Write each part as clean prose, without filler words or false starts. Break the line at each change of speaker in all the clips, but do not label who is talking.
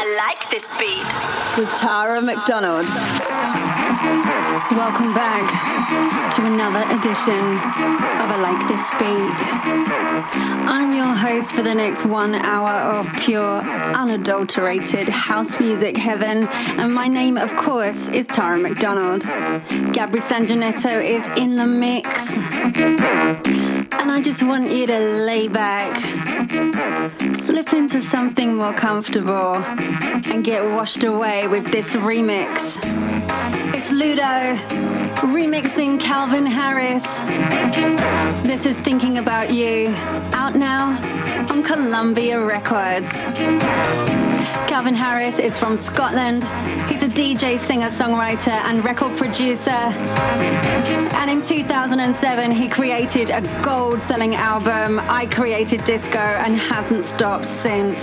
Like This Beat
with Tara McDonald. Welcome back to another edition of I Like This Beat. I'm your host for the next 1 hour of pure, unadulterated house music heaven, and my name, of course, is Tara McDonald. Gabri Sanjanetto is in the mix, and I just want you to lay back, slip into something more comfortable, and get washed away with this remix. It's Ludo remixing Calvin Harris. This is Thinking About You, out now on Columbia Records. Calvin Harris is from Scotland. He's a DJ, singer, songwriter, and record producer. And in 2007, he created a gold-selling album, I Created Disco, and hasn't stopped since.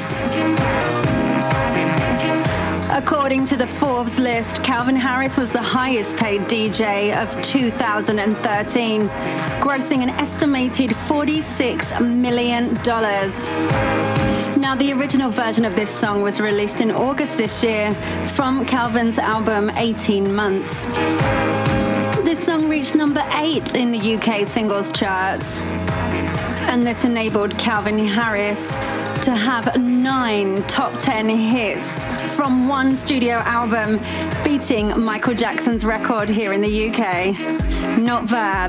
According to the Forbes list, Calvin Harris was the highest paid DJ of 2013, grossing an estimated $46 million. Now, the original version of this song was released in August this year from Calvin's album 18 Months. This song reached number 8 in the UK singles charts, and this enabled Calvin Harris to have 9 top 10 hits from one studio album, beating Michael Jackson's record here in the UK. Not bad.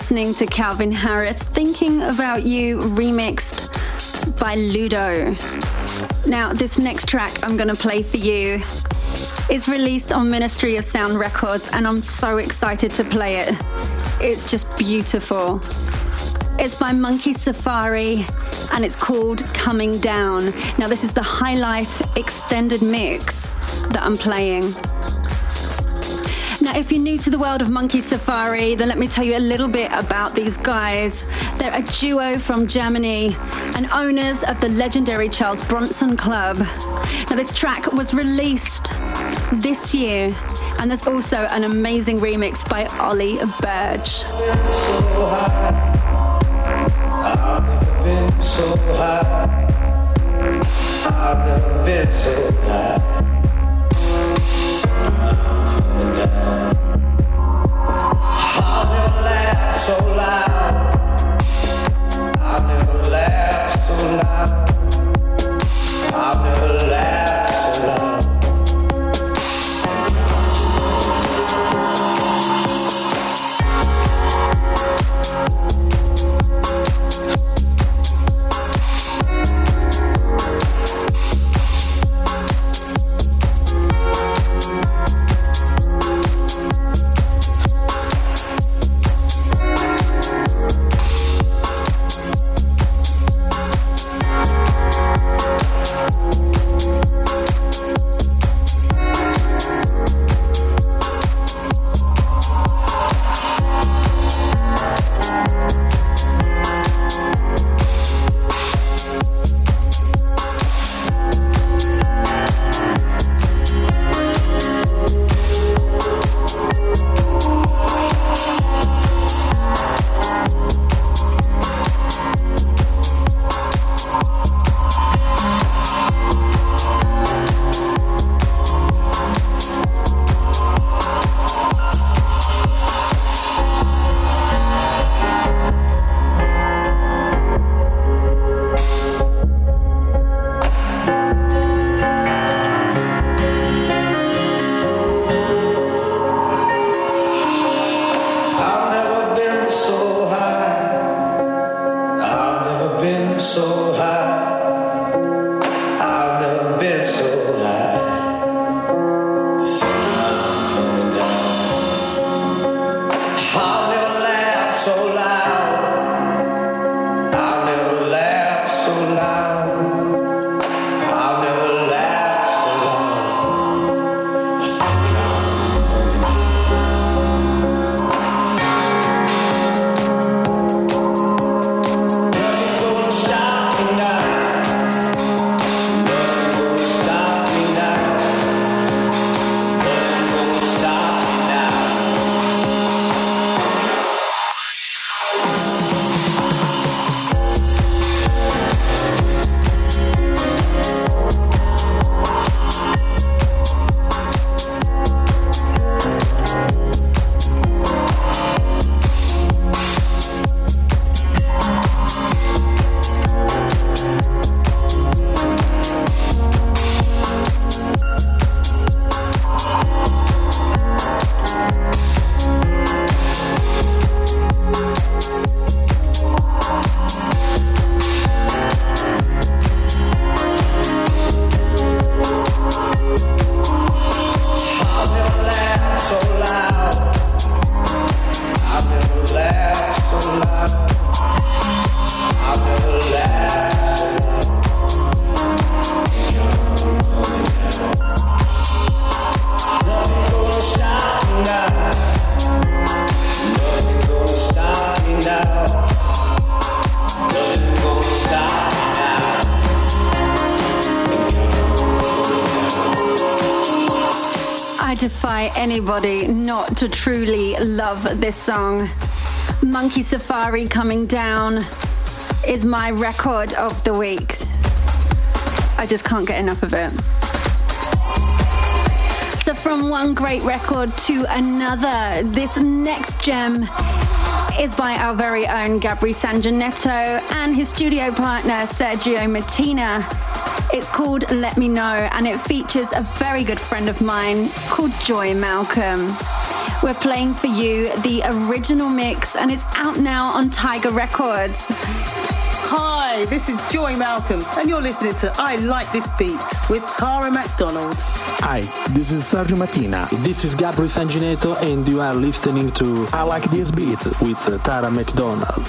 listening to Calvin Harris, Thinking About You, remixed by Ludo. Now, this next track I'm going to play for you is released on Ministry of Sound Records, and I'm so excited to play it. It's just beautiful. It's by Monkey Safari, and it's called Coming Down. Now, this is the High Life extended mix that I'm playing. Now, if you're new to the world of Monkey Safari, then let me tell you a little bit about these guys. They're a duo from Germany and owners of the legendary Charles Bronson Club. Now, this track was released this year, and there's also an amazing remix by Ollie Burge.
I've never been so high. I've never been so high. I'm coming down. I've never laughed so loud. I've never laughed so loud. I've never laughed so loud.
Defy anybody not to truly love this song. Monkey Safari Coming Down is my record of the week. I just can't get enough of it. So from one great record to another, this next gem is by our very own Gabri Sanjanetto and his studio partner Sergio Martina. It's called Let Me Know, and it features a very good friend of mine called Joy Malcolm. We're playing for you the original mix, and it's out now on Tiger Records.
Hi, this is Joy Malcolm, and you're listening to I Like This Beat with Tara McDonald.
Hi, this is Sergio Mattina.
This is Gabri Sangineto, and you are listening to
I Like This Beat
with Tara McDonald.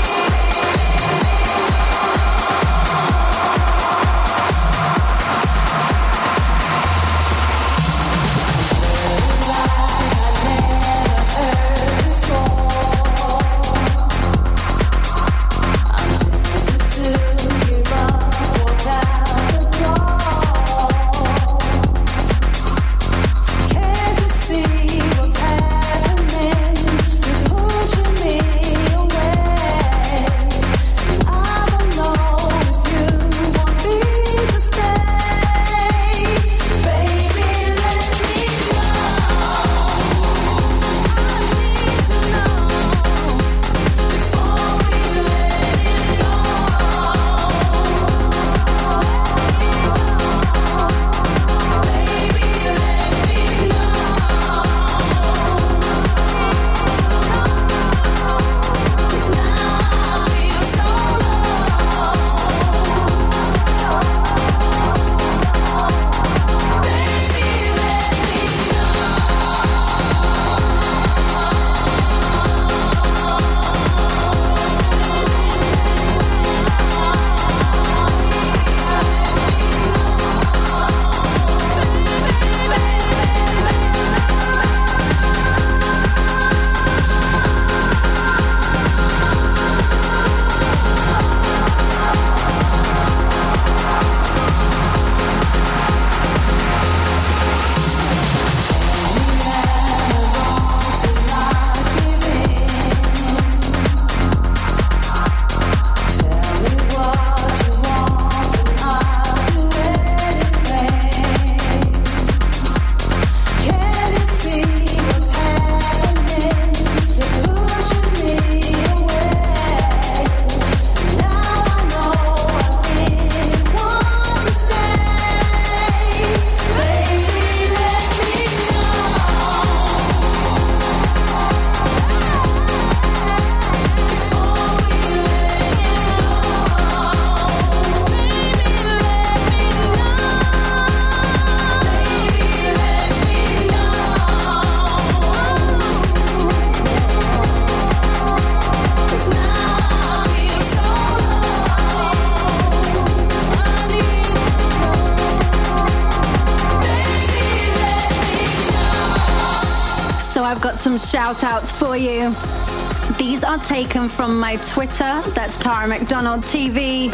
Some shout outs for you. These are taken from my Twitter, that's Tara McDonald TV.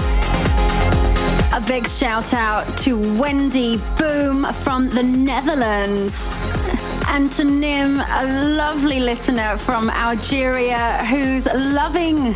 A big shout out to Wendy Boom from the Netherlands, and to Nim, a lovely listener from Algeria who's loving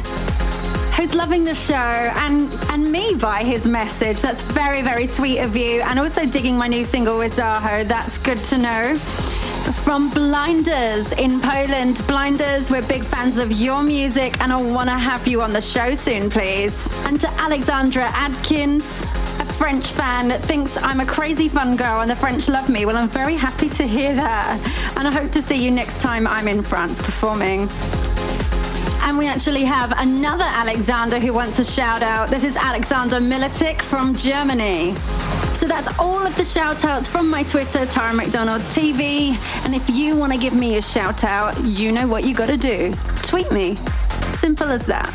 the show and me by his message. That's very, very sweet of you. And also digging my new single with Zaho, that's good to know. From Blinders in Poland. Blinders, we're big fans of your music and I want to have you on the show soon, please. And to Alexandra Adkins, a French fan that thinks I'm a crazy fun girl and the French love me. Well, I'm very happy to hear that. And I hope to see you next time I'm in France performing. And we actually have another Alexander who wants a shout out. This is Alexander Militic from Germany. So that's all of the shout outs from my Twitter, Tara McDonald TV. And if you want to give me a shout out, you know what you got to do. Tweet me. Simple as that.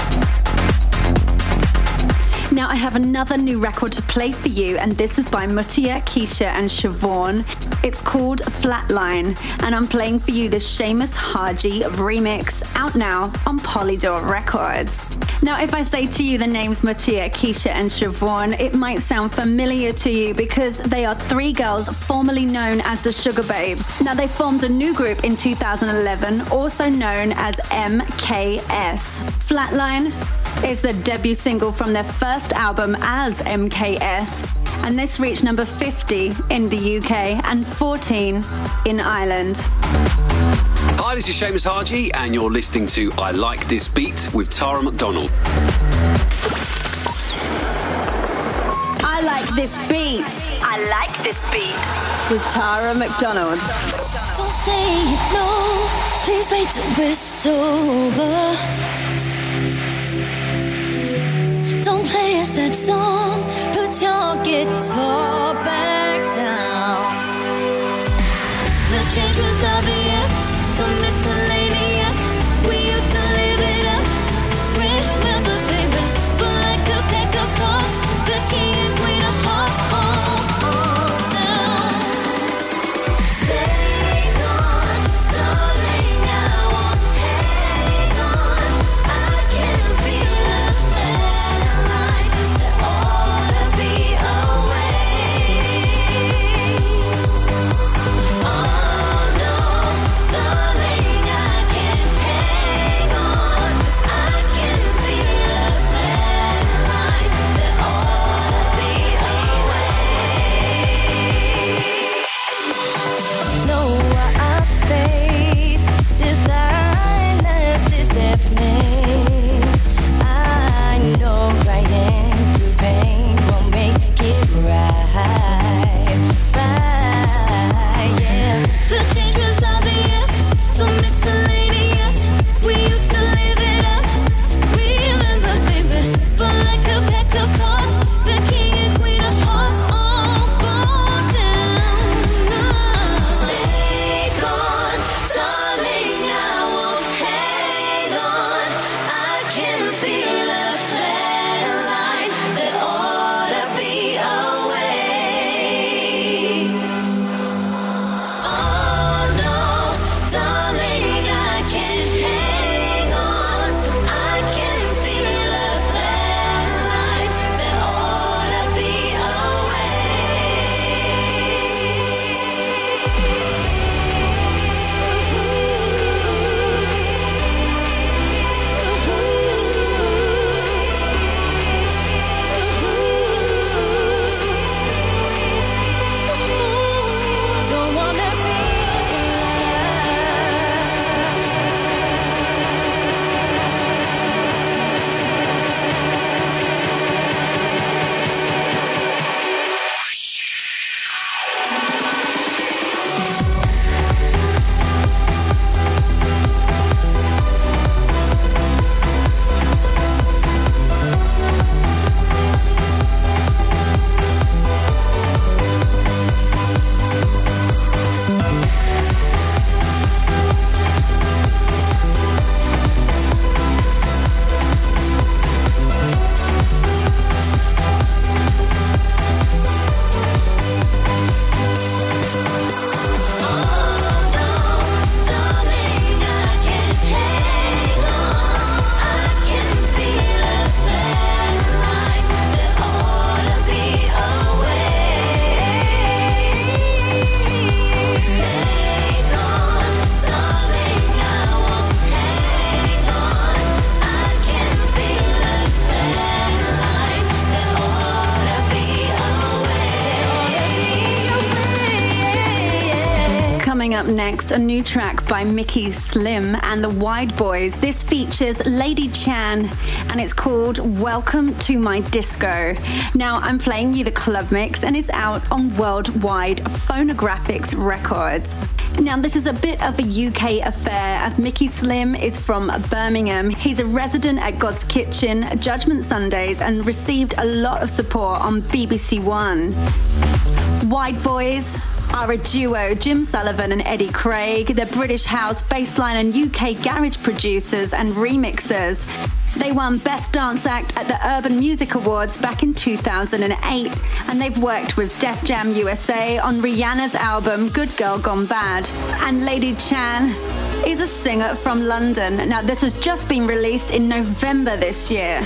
Now I have another new record to play for you, and this is by Mutia, Keisha and Siobhan. It's called Flatline, and I'm playing for you the Seamus Haji remix, out now on Polydor Records. Now, if I say to you the names Mutia, Keisha and Siobhan, it might sound familiar to you because they are three girls formerly known as the Sugar Babes. Now, they formed a new group in 2011, also known as MKS. Flatline is the debut single from their first album as MKS, and this reached number 50 in the UK and 14 in Ireland.
Hi, this is Seamus Haji, and you're listening to I Like This Beat with Tara McDonald.
I like this beat. I like this beat with Tara McDonald.
say no, please wait till we're sober. Don't play a sad song, put your guitar back down. The change was obvious, so miscellaneous. We used to live it up, remember baby. But like a deck of cards, the king and queen of hearts all down. Stay gone, darling, I won't hang on. I can feel a flat line that ought to be away. Oh no, darling, I can't hang on. I can feel a flat line that ought to be away. Know what I face, this silence is deafening. I know crying through pain won't make it right, yeah. The change was obvious, so miscellaneous. We used to live it up, remember baby. But like a pack of cards, the king and queen of hearts all fall down. Stay gone, darling, I won't hang on. I can feel a flat line that ought to be away. Oh no, darling, I can't hang on. 'Cause I can feel a flat line that ought to be away. Don't wanna be
Coming up next, a new track by Mickey Slim and the Wide Boys. This features Lady Chan and it's called Welcome to My Disco. Now, I'm playing you the club mix and it's out on Worldwide Phonographics Records. Now, this is a bit of a UK affair as Mickey Slim is from Birmingham. He's a resident at God's Kitchen, Judgment Sundays, and received a lot of support on BBC One. Wide Boys are a duo, Jim Sullivan and Eddie Craig. They're British house, bassline and UK garage producers and remixers. They won Best Dance Act at the Urban Music Awards back in 2008, and they've worked with Def Jam USA on Rihanna's album Good Girl Gone Bad. And Lady Chan is a singer from London. Now, this has just been released in November this year.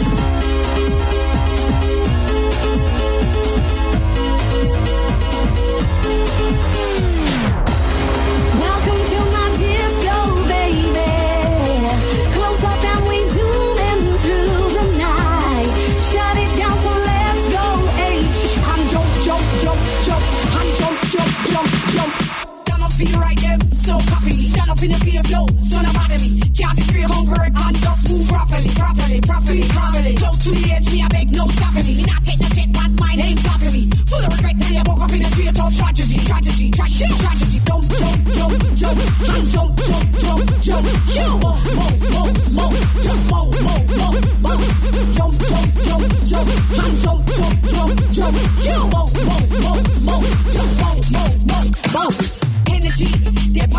Feel right them, so copy me. Stand up in the field, no, son of me. Can't be straight convert and just move properly. Close to the edge, me I beg no stopping me. Me not take no jet, but my name stopping me. Full of regret, then I woke up in a street of tragedy. Jump.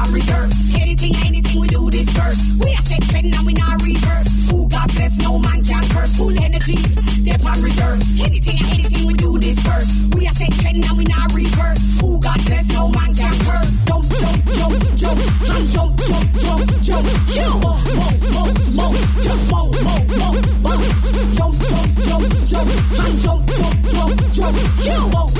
on reserve. Anything we do this first. We are set trend and we not reverse. Who God bless, no man can curse. Full energy, they're on reserve. Anything we do this first. We are set trend and we not reverse. Who God bless, no man can curse. Jump, jump, jump, jump, and jump, jump, jump, jump. Yeah, move, just move, jump, jump, jump, jump, and jump, jump, jump, jump. Yeah, move,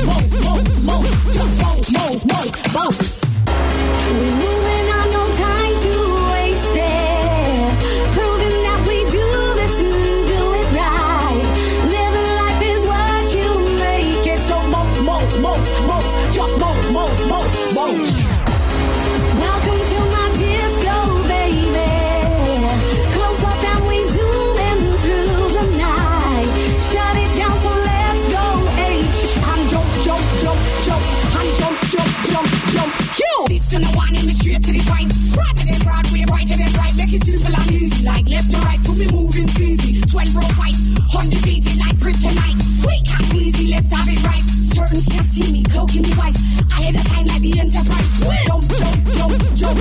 just move.
We're moving on, no time to waste it. Proving that we do this and do it right. Living life is what you make it. So
just move.
Welcome to my disco, baby. Close up and we zoom in through the night. Shut it down, so let's go H.
And jump, and jump. Listen, I want me straight to the point. Rather than Broadway, righter than right. Make it simple and easy, like left to right. To be moving easy. 12 row fight, 100 beat it like kryptonite. Quick and easy, let's have it right. Certain can't see me, cloaking device. Ahead of time like the Enterprise. Jump, and jump.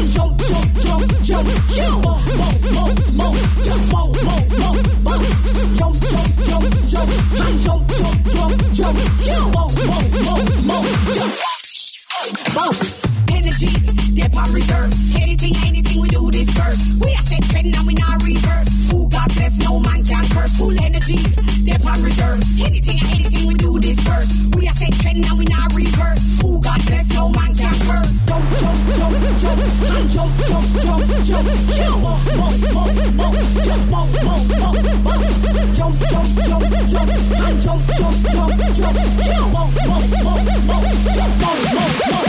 Yeah, move. Just move. Jump, and jump. Yeah, move. Just bounce. Energy, they're on reserve. Anything we do this first. We are set trend and we not reverse. Who God bless, no man can curse. Full energy, they're on reserve. Anything we do this first. We are set trend and we not reverse. Who God bless, no man can curse. Jump, and jump. Yeah, move. Just move. Jump, and jump. Yeah, move. Just move.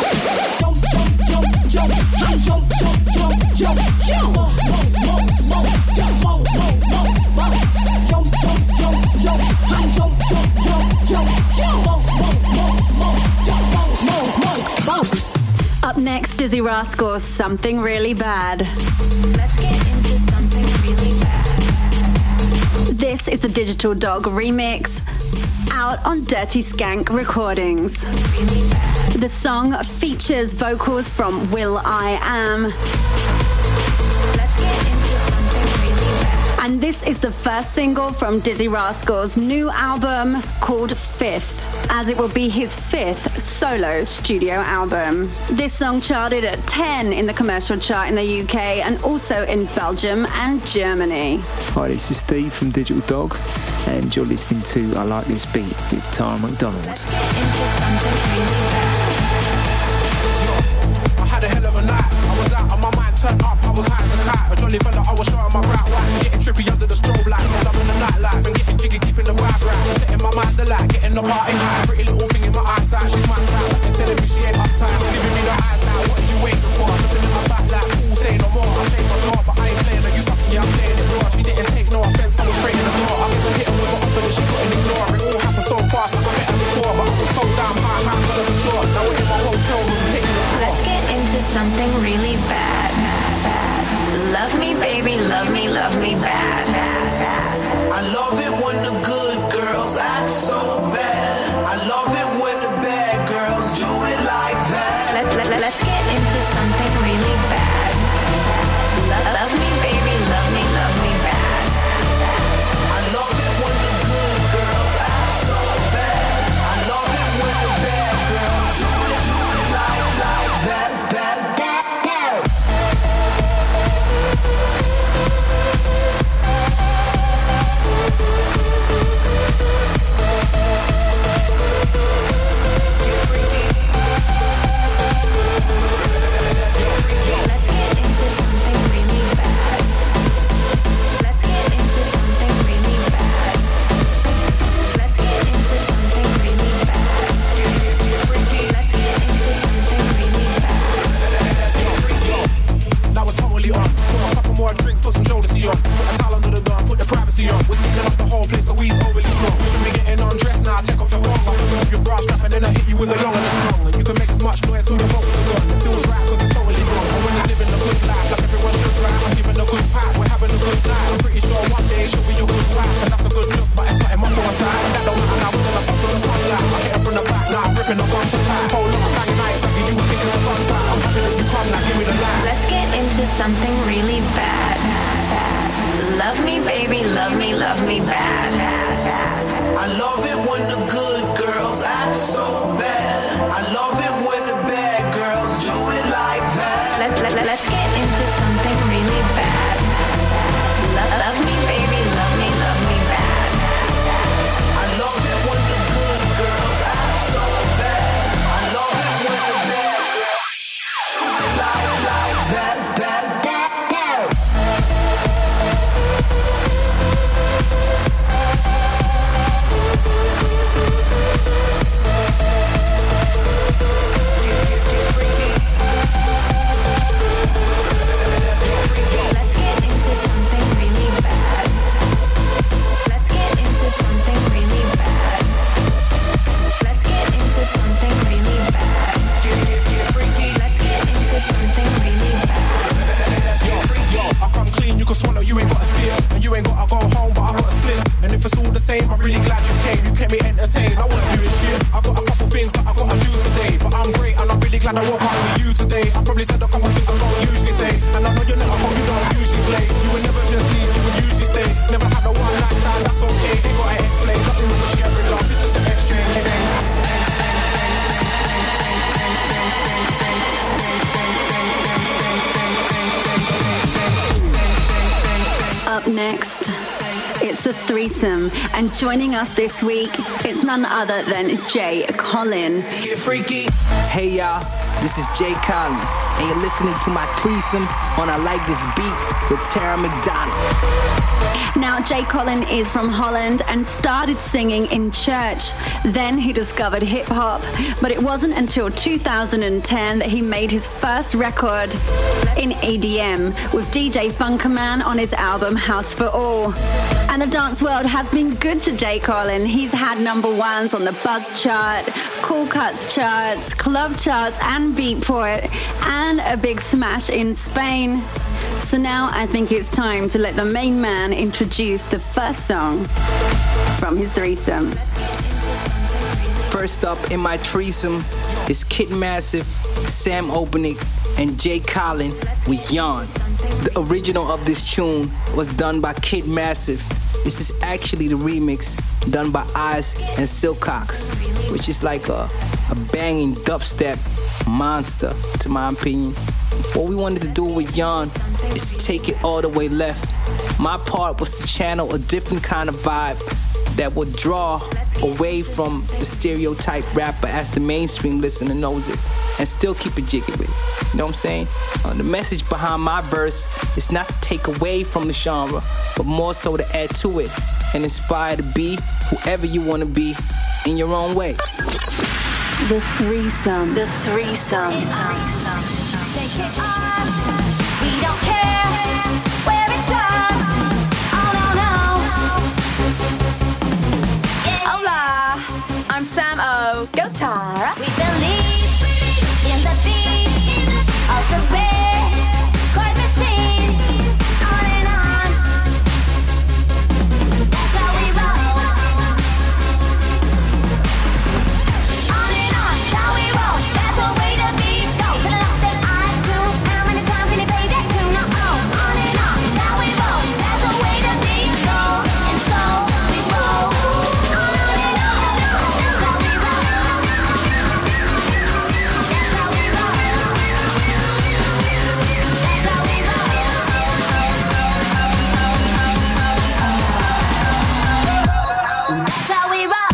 Jump, and jump. Yeah, move. Just move. Jump, and jump. Yeah, move. Just move.
Up next, Dizzy Rascals, Something Really Bad.
Let's get into something really bad.
This is the Digital Dog remix, out on Dirty Skank Recordings.
Really bad.
The song features vocals from Will I Am.
Let's get into something really bad.
And this is the first single from Dizzy Rascals' new album called Fifth, as it will be his fifth solo studio album. This song charted at 10 in the commercial chart in the UK and also in Belgium and Germany.
Hi, this is Steve from Digital Dog, and you're listening to I Like This Beat with Tara McDonald.
Let's get into something really bad.
I had a hell of a night. I was out on my mind, turned up, I was high as a kite. A jolly fella, I was showing my bright whites. Getting trippy under the strobe lights. I'm loving the nightlife and getting jiggy, keeping the vibe right. Setting my mind alight, getting the party high. Pretty little thing in my eyesight, she's my type. I can telling me she ain't uptight. Giving me the eyes now, what are you waiting for? Looking in my back like, ooh, say no more. I say no more, but I ain't playing her. You fucking, yeah, I'm saying it raw. She didn't take no offense, I was straight in the floor. I guess I hit her with an offer that she couldn't ignore. It all happened so fast, like I met her before. But I was so damn high, man, for the short. Now we're in my hotel room, taking the tour.
Let's get into something really bad. Love me, baby, love me bad.
I love it when the good girls act so bad. I love it when the bad girls do it like that.
Let's get into something really bad. Love me, baby, love me bad.
I love it when the good girls act so bad. I love it when the bad girls do it like that.
into something really bad. Love me, baby, love me bad.
I love it when the good girls act so bad. I love it when the bad girls do it like that.
Let's get into something really bad. Love me, baby, love me bad.
I love it when the good girls act so bad. I love it when the bad girls do it like that.
Let's get into something really bad. Let's get into something really bad. Let's get into something really bad. Let's get into something really bad.
Yo, I come clean, you can swallow, you ain't got a steal. And you ain't gotta go home, but I got a split. And if it's all the same, I'm really glad you came. You kept me entertained, I wanna do this shit. I got a couple things that I gotta do today. But I'm great and I'm really glad I woke up with you today. I probably said a couple things I don't usually say. And I know you're not at home, you don't usually play. You would never just leave, you would usually stay. Never had a one night stand, that's okay. Ain't gotta explain, nothing wrong with sharing love, it's just an exchange.
Up next, it's the threesome, and joining us this week, it's none other than Jay Colin.
Get freaky.
Hey y'all, this is Jay Colin, and you're listening to my threesome on I Like This Beat with Tara McDonald.
Now, Jay Colin is from Holland and started singing in church. Then he discovered hip-hop, but it wasn't until 2010 that he made his first record in EDM with DJ Funkerman on his album House for All. And the dance world has been good to Jay Colin. He's had number ones on the Buzz chart, Cool Cuts charts, club charts and Beatport, and a big smash in Spain. So now I think it's time to let the main man introduce the first song from his threesome.
First up in my threesome is Kid Massive, Sam Opening, and Jay Colin with Yawn. The original of this tune was done by Kid Massive. This is actually the remix done by Oz and Silcox, which is like a banging dubstep monster, to my opinion. What we wanted to do with Yawn is to take it all the way left. My part was to channel a different kind of vibe that would draw away from the stereotype rapper as the mainstream listener knows it, and still keep it jiggy with it. You know what I'm saying? The message behind my verse is not to take away from the genre, but more so to add to it and inspire to be whoever you want to be in your own way.
The threesome. The threesome.
Take it on. We don't care where it drops. Oh no.
Hola, I'm Sam O. Go Tara.
We believe in the beat of the Bitcoin machine. On and on. That's how we roll. On and on, that's how we roll. That's the way the beat goes. And a lot that I do. How many times can you play that tune? No, on and on, that's how we roll. That's the way the beat goes. And so we roll. On and on, that's how we roll. That's how we roll. That's how we roll. That's how we roll.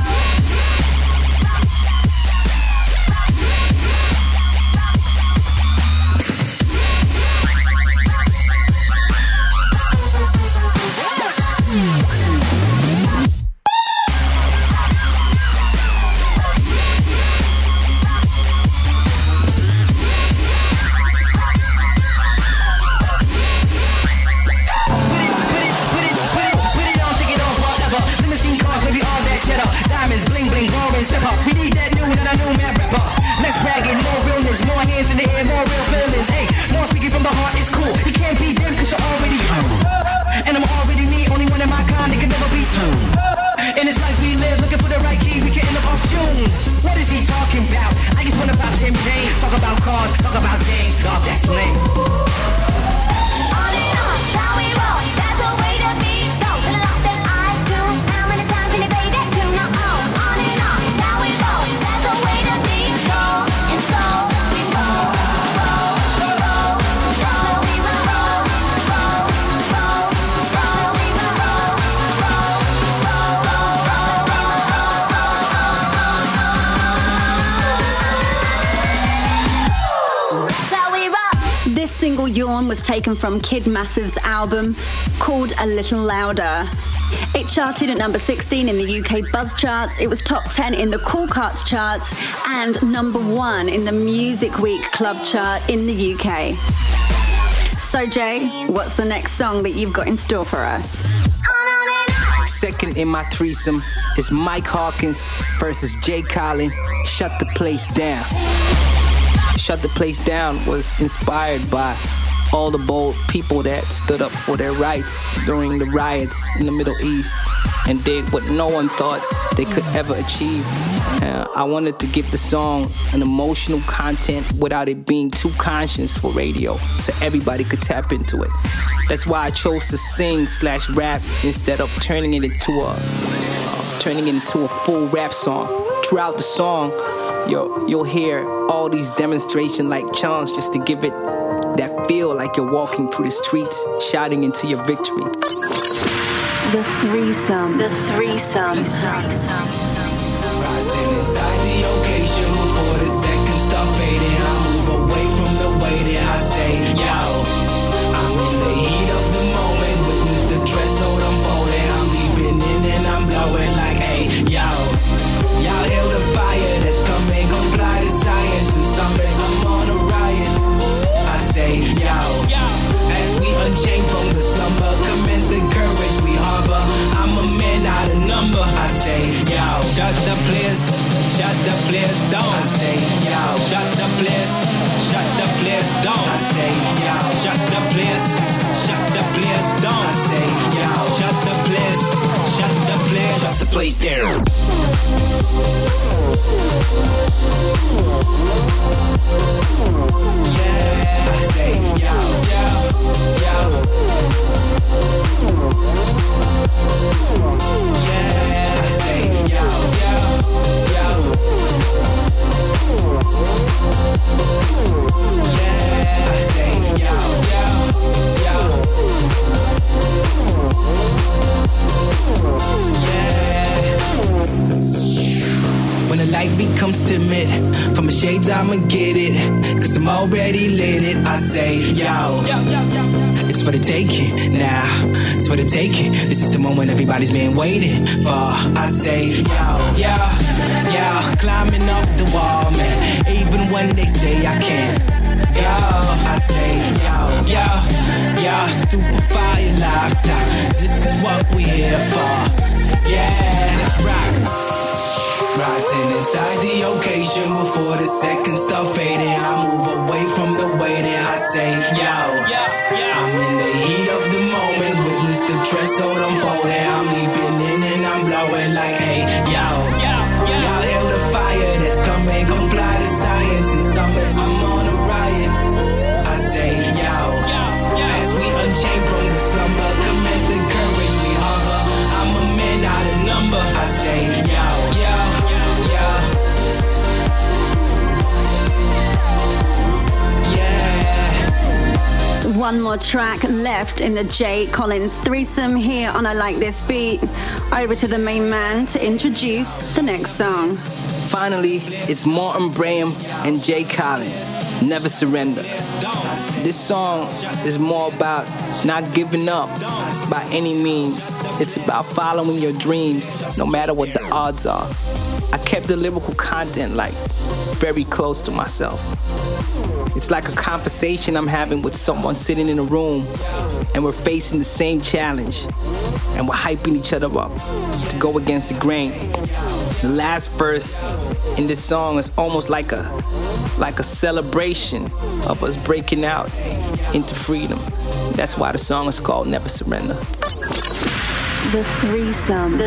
Diamonds, bling, bling, roaring, step up. We need that new and a new man rapper. Less bragging, more realness, more hands in the air, more real feelings. Hey, more speaking from the heart, it's cool. You can't be them cause you're already you. And I'm already me, only one in my kind that can never be tuned. In this life we live, looking for the right key, we can end up off tune. What is he talking about? I just want about champagne. Talk about cars, talk about games. God, that's lame.
This single, Yawn, was taken from Kid Massive's album called A Little Louder. It charted at number 16 in the UK Buzz charts, it was top 10 in the Cool Carts charts, and number 1 in the Music Week Club chart in the UK. So Jay, what's the next song that you've got in store for us?
Second in my threesome is Mike Hawkins versus Jay Collin, Shut the Place Down. Shut the Place Down was inspired by all the bold people that stood up for their rights during the riots in the Middle East and did what no one thought they could ever achieve. I wanted to give the song an emotional content without it being too conscious for radio, so everybody could tap into it. That's why I chose to sing/rap instead of turning it into a full rap song. Throughout the song, you'll hear all these demonstration-like chants just to give it that feel like you're walking through the streets, shouting into your victory.
The threesome.
Rising inside the occasion before the seconds start fading. I move away from the waiting. I say, yo, I'm in the heat of the moment. Witness the threshold unfolding. I'm leaping in and I'm blowing like, hey, yo, y'all hail the fire that's coming. Comply to science and summits. I'm on a riot. I say, yo, as we unchain from the slumber, commence the courage we harbor. I'm a man out of number. I say, yo, shut the place down. I say, yo, shut the place down. I say, yo, shut the place down. I say, yo, shut the place down. Yeah, I say, yo. Yeah, I say, yo. Yeah, I say, yo. When the light becomes timid, from the shades I'ma get it, cause I'm already lit it. I say, yo, it's for the taking, now, it's for the taking. This is the moment everybody's been waiting for. I say, yo, climbing up the wall, man, even when they say I can't. Yo, I say, yo, stupefy your lifetime. This is what we here for. Yeah, let's rock. Rising inside the occasion before the seconds start fading. I move away from the waiting. I say, yo, I'm in the heat of the moment. Witness the threshold unfolding. I'm leaping in and I'm blowing like, hey, yo, y'all hail the fire that's coming. Comply to science and summits. I'm on a riot. I say, yo, as we unchain from the slumber, commence the courage we harbor. I'm a man out of number. I say, yo.
One more track left in the Jay Collins threesome here on I Like This Beat. Over to the main man to introduce the next song.
Finally, it's Martin Braham and Jay Collin, Never Surrender. This song is more about not giving up by any means. It's about following your dreams no matter what the odds are. I kept the lyrical content very close to myself. It's like a conversation I'm having with someone sitting in a room and we're facing the same challenge and we're hyping each other up to go against the grain. The last verse in this song is almost like a celebration of us breaking out into freedom. That's why the song is called Never Surrender.
The threesome.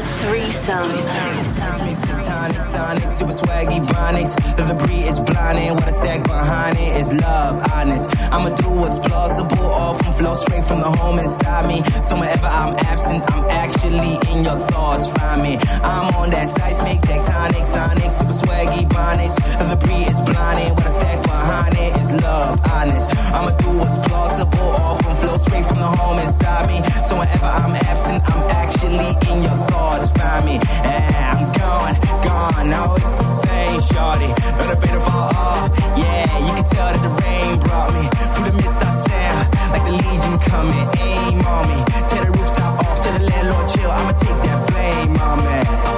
Sonic, super swaggy Bronix. The breed is blinding. What I stack behind it is love, honest. I'ma do what's plausible, all from flow straight from the home inside me. So whenever I'm absent, I'm actually in your thoughts. Find me. I'm on that seismic, tectonic, sonic, super swaggy Bronix. The breed is blinding. What I stack behind it is love, honest. I'ma do what's plausible, all from flow straight from the home inside me. So whenever I'm absent, I'm actually in your thoughts. Find me. I'm gone. Now it's insane, shorty. But a bit of all, yeah, you can tell that the rain brought me through the mist come and aim on me. Tear the rooftop off, tell the landlord chill. I'ma take that blame on me.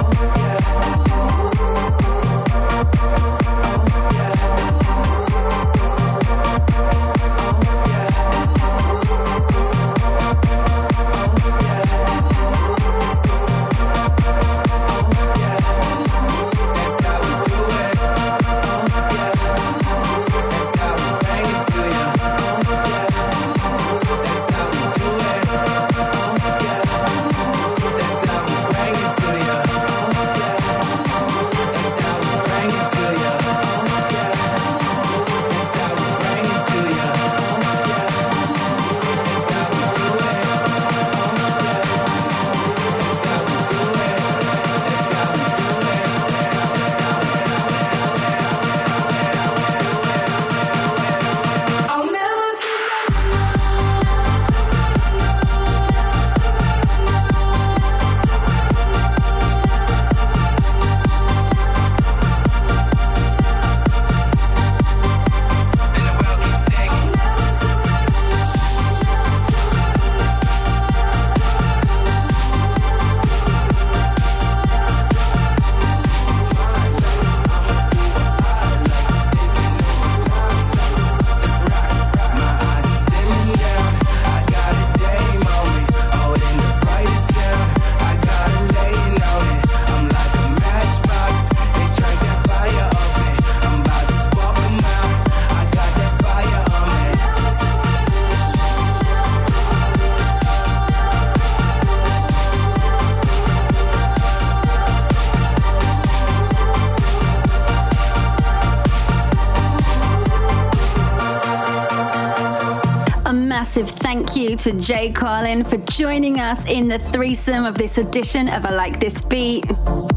Thank you to Jay Carlin for joining us in the threesome of this edition of I Like This Beat.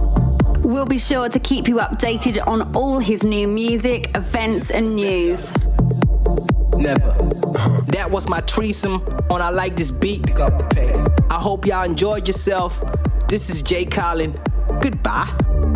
We'll be sure to keep you updated on all his new music, events and news.
Never. That was my threesome on I Like This Beat. Pick up the pace. I hope y'all enjoyed yourself. This is Jay Carlin. Goodbye.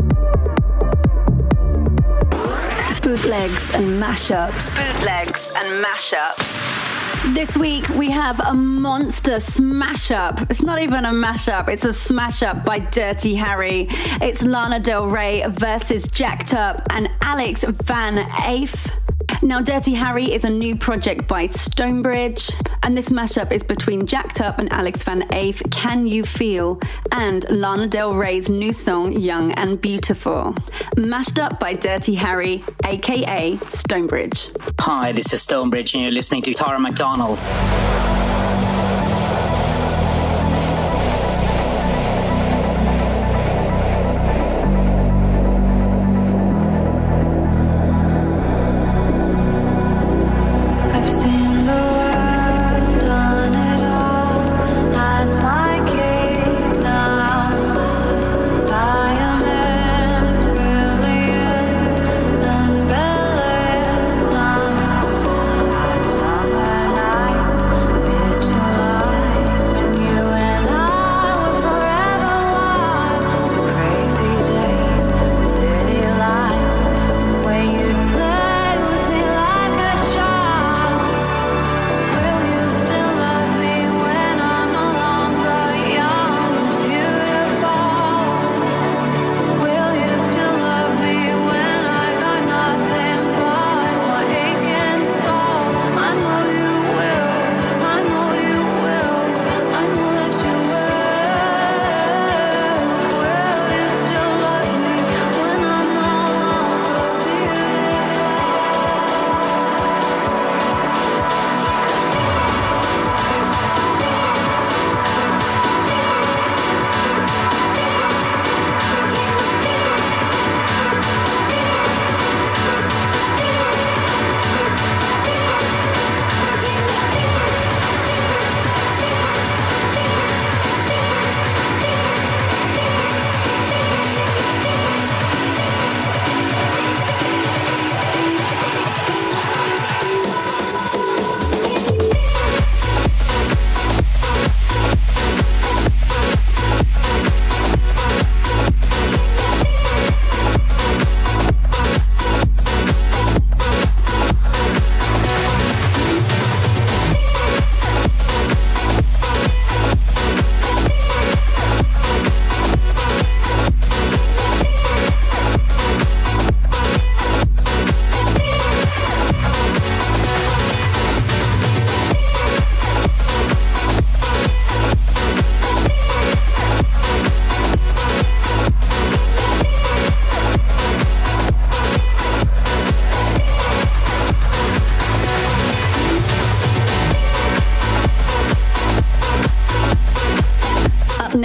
Bootlegs and mashups. Bootlegs and mashups. This week we have a monster smash up. It's not even a mashup, it's a smash up by Dirty Harry. It's Lana Del Rey versus Jacked Up and Alex Van Eyck. Now, Dirty Harry is a new project by Stonebridge, and this mashup is between Jacked Up and Alex Van Eyck, Can You Feel, and Lana Del Rey's new song, Young and Beautiful. Mashed up by Dirty Harry, aka Stonebridge.
Hi, this is Stonebridge, and you're listening to Tara McDonald.
Summer nights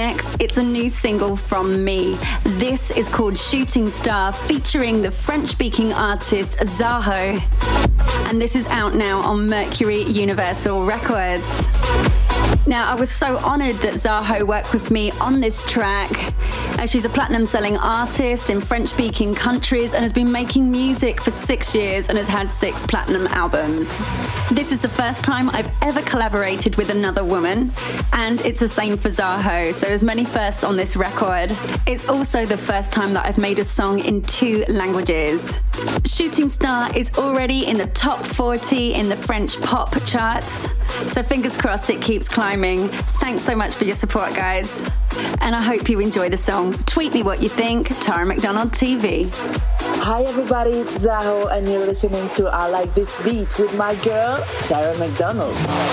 next, it's a new single from me. This is called Shooting Star, featuring the French-speaking artist Zaho. And this is out now on Mercury Universal Records. Now, I was so honoured that Zaho worked with me on this track, as she's a platinum-selling artist in French-speaking countries and has been making music for 6 years and has had 6 platinum albums. This is the first time I've ever collaborated with another woman, and it's the same for Zaho, so there's many firsts on this record. It's also the first time that I've made a song in 2 languages. Shooting Star is already in the top 40 in the French pop charts, so fingers crossed it keeps climbing. Thanks so much for your support, guys. And I hope you enjoy the song. Tweet me what you think, Tara McDonald TV.
Hi everybody, it's Zaho and you're listening to I Like This Beat with my girl, Tara McDonald.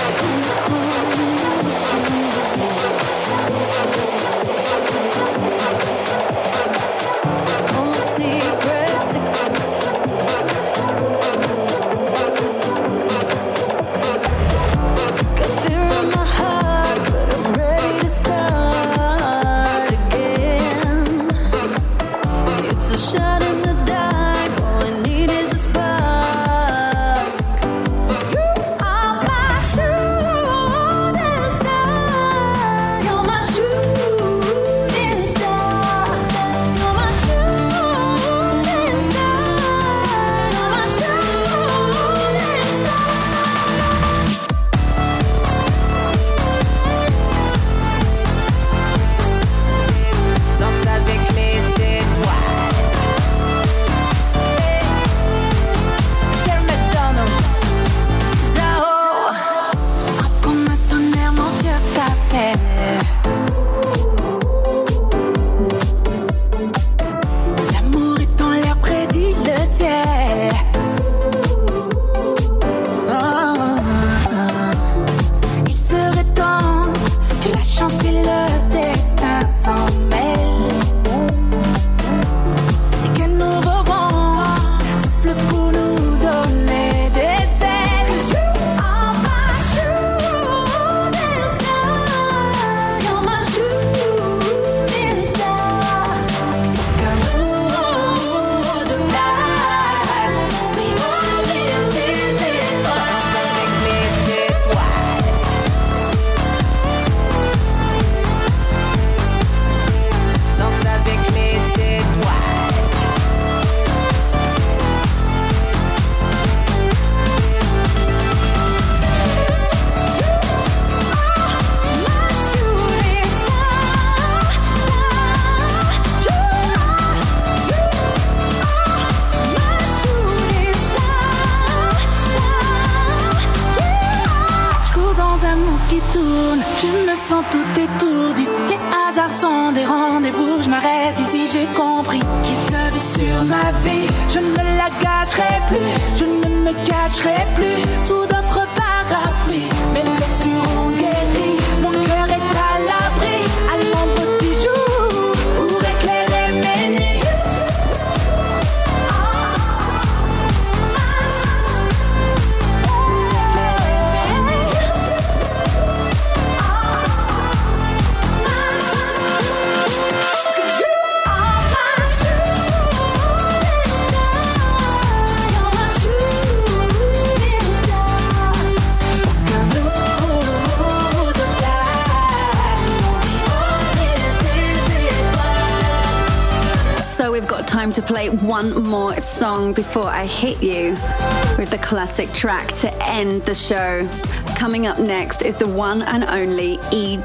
To play one more song before I hit you with the classic track to end the show. Coming up next is the one and only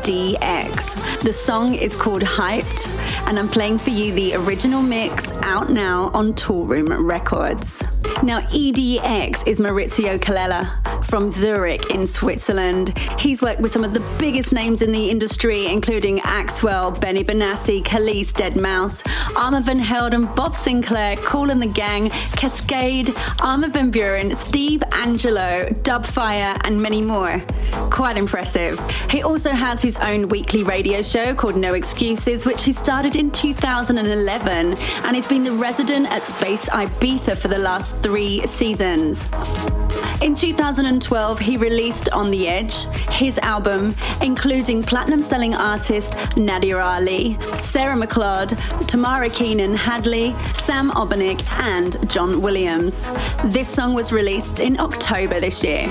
EDX. The song is called Hyped, and I'm playing for you the original mix out now on Toolroom Records. Now, EDX is Maurizio Colella from Zurich in Switzerland. He's worked with some of the biggest names in the industry, including Axwell, Benny Benassi, Khalees, Deadmau5, Armand van Helden, Bob Sinclair, Kool and the Gang, Cascade, Armin van Buuren, Steve Angelo, Dubfire, and many more. Quite impressive. He also has his own weekly radio show called No Excuses, which he started in 2011, and he's been the resident at Space Ibiza for the last 3 seasons. In 2012, he released On the Edge, his album, including platinum-selling artist Nadia Ali, Sarah McLeod, Tamara Keenan Hadley, Sam Obernick, and John Williams. This song was released in October this year.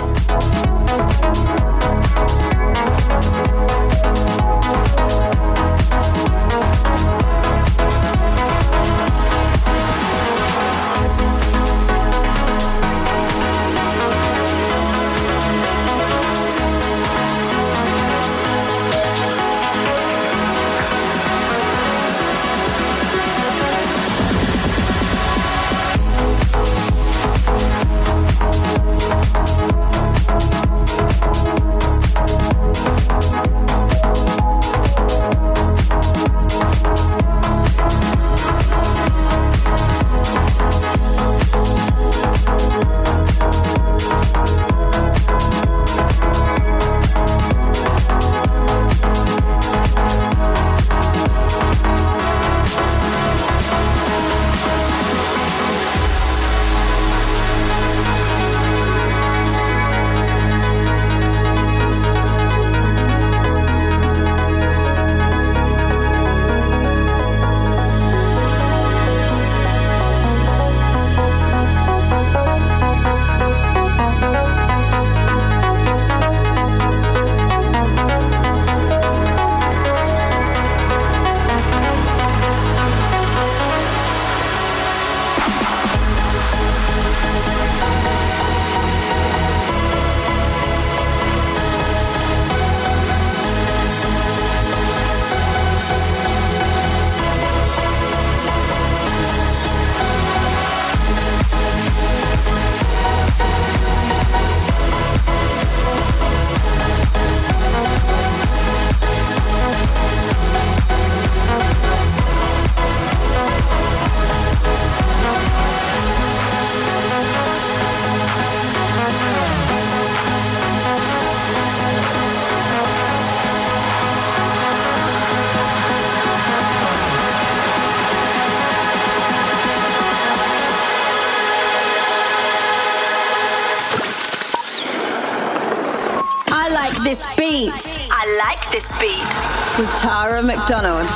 This beat. I like this beat. With Tara McDonald.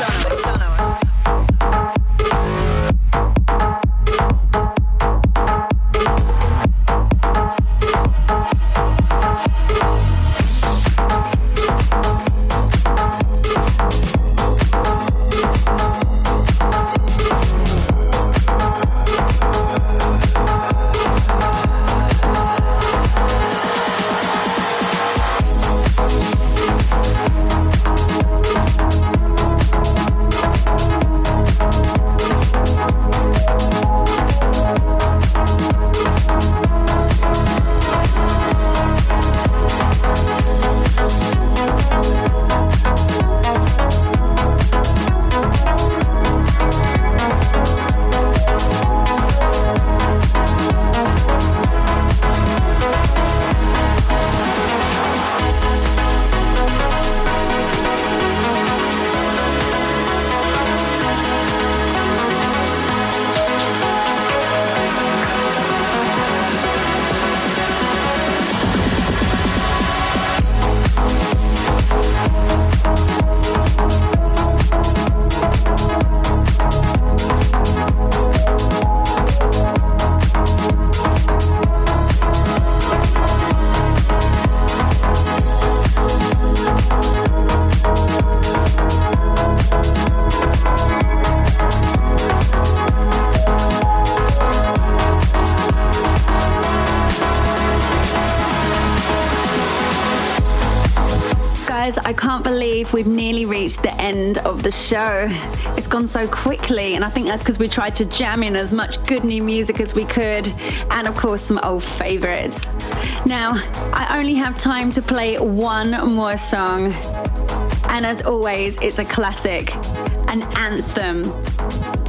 I can't believe we've nearly reached the end of the show. It's gone so quickly, and I think that's because we tried to jam in as much good new music as we could, and of course some old favorites. Now, I only have time to play one more song, and as always, it's a classic, an anthem.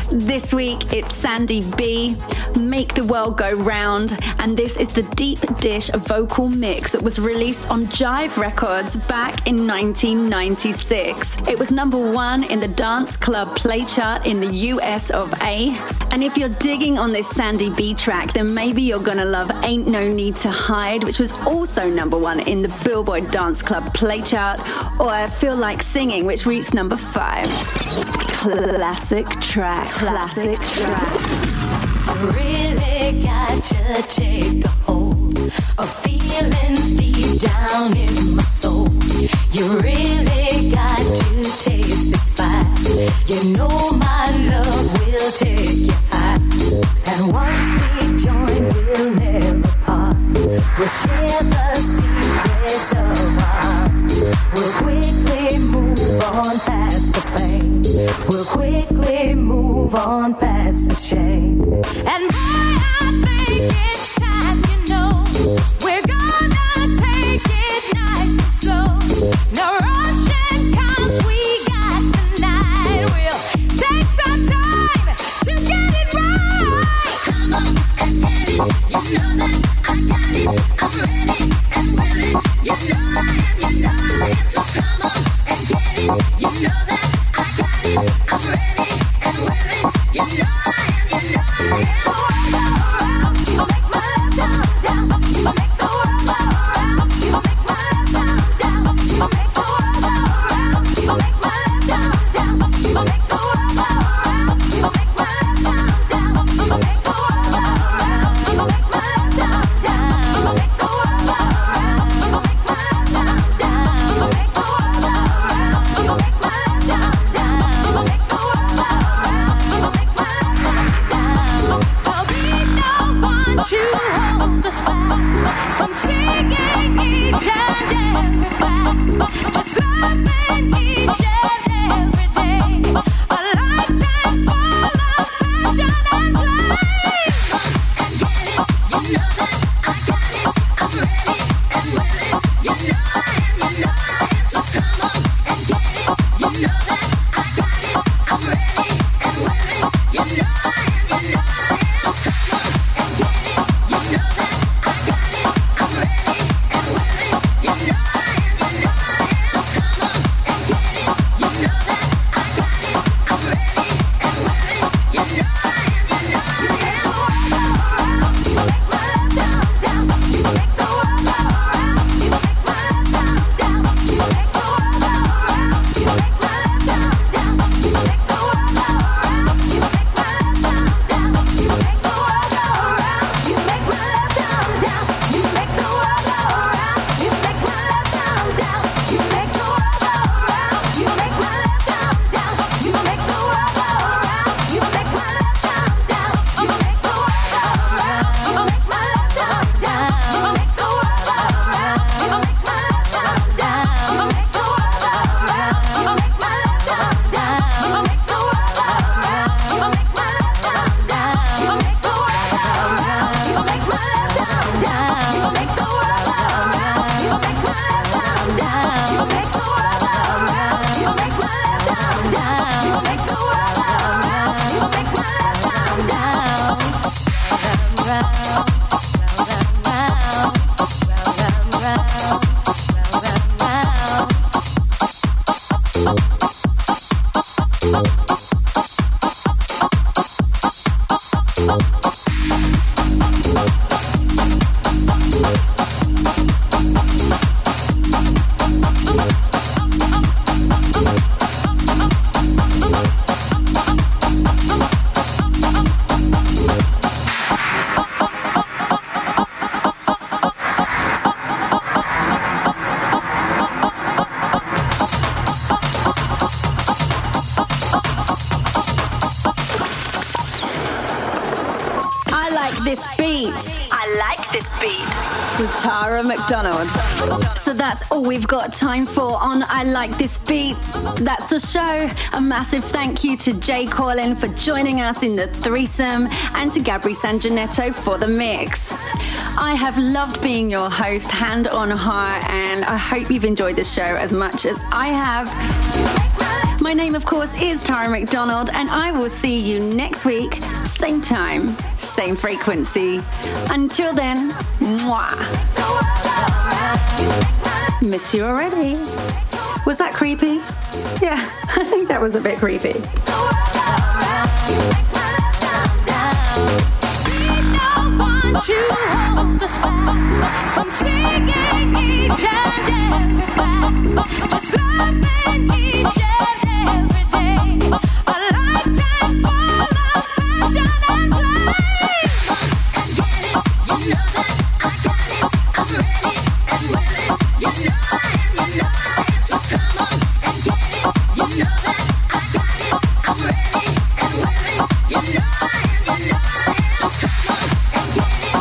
This week it's Sandy B, Make the World Go Round, and this is the Deep Dish vocal mix that was released on Jive Records back in 1996. It was #1 in the dance club play chart in the US of A. And if you're digging on this Sandy B track, then maybe you're gonna love Ain't No Need to Hide, which was also #1 in the Billboard Dance Club play chart, or I Feel Like Singing, which reached #5. Classic track.
I really got to take a hold of feelings deep down in my soul. You really got to taste this fire. You know my love will take you high. And once we join, we'll never part. We'll share the secrets of our hearts. We'll quickly move on past the pain. We'll quickly move on past the shame. And I think it's time, you know, we're gonna take it nice and slow. No rushing, 'cause we got the night. We'll take some time to get it right. So come on and get it. You know that I got it. I'm ready and willing. You know I am. So come on and get it. You know that I got it. I'm ready and willing. You know I am. From singing each and every fact, just loving each and every day, a lifetime full of passion and play. And get it, you know that I got it. I'm ready and willing. You know I am. So come on and get it. You know that I got it. I'm ready and willing. You know I am. So come on and get it. You know that I got it. I'm ready and willing. You know I am. So come on and get it. You know that I got it. I'm ready and willing. You know I am.
With Tara McDonald. So that's all we've got time for on I Like This Beat. That's the show. A massive thank you to Jay Corlin for joining us in the threesome and to Gabri Sanjanetto for the mix. I have loved being your host, hand on heart, and I hope you've enjoyed the show as much as I have. My name, of course, is Tara McDonald, and I will see you next week, same time, same frequency. Until then, mwah. Miss you already. Was that creepy? Yeah, I think that was a bit creepy.
To hold us back from singing each and every fact, just loving each and every day, a lifetime full of passion and play. And get it, you know that I got it, I'm ready and willing, you know I am, so come on and get it, you know that I got it, I'm ready and willing, you know I am, so come on and get it.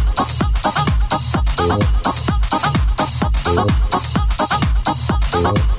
Thank you.